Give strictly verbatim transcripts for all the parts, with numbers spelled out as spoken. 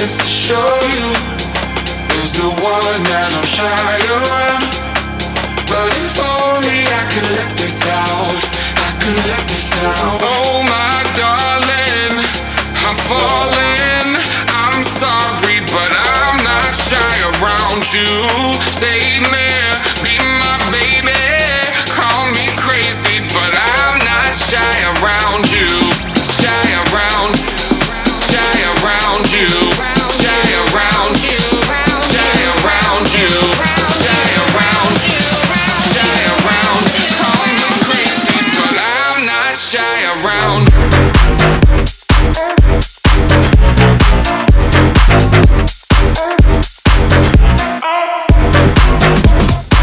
this to show you is the one that I'm shy around. But if only I could let this out, I could let this out. Oh my darling, I'm falling. I'm sorry, but I'm not shy around you. Save me, be my baby. Call me crazy, but I'm not shy around you. Shy around, shy around you. Shy around you, shy around you. Shy around, shy around. Call me crazy, but I'm not shy around.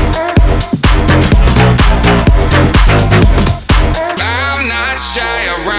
Shy around.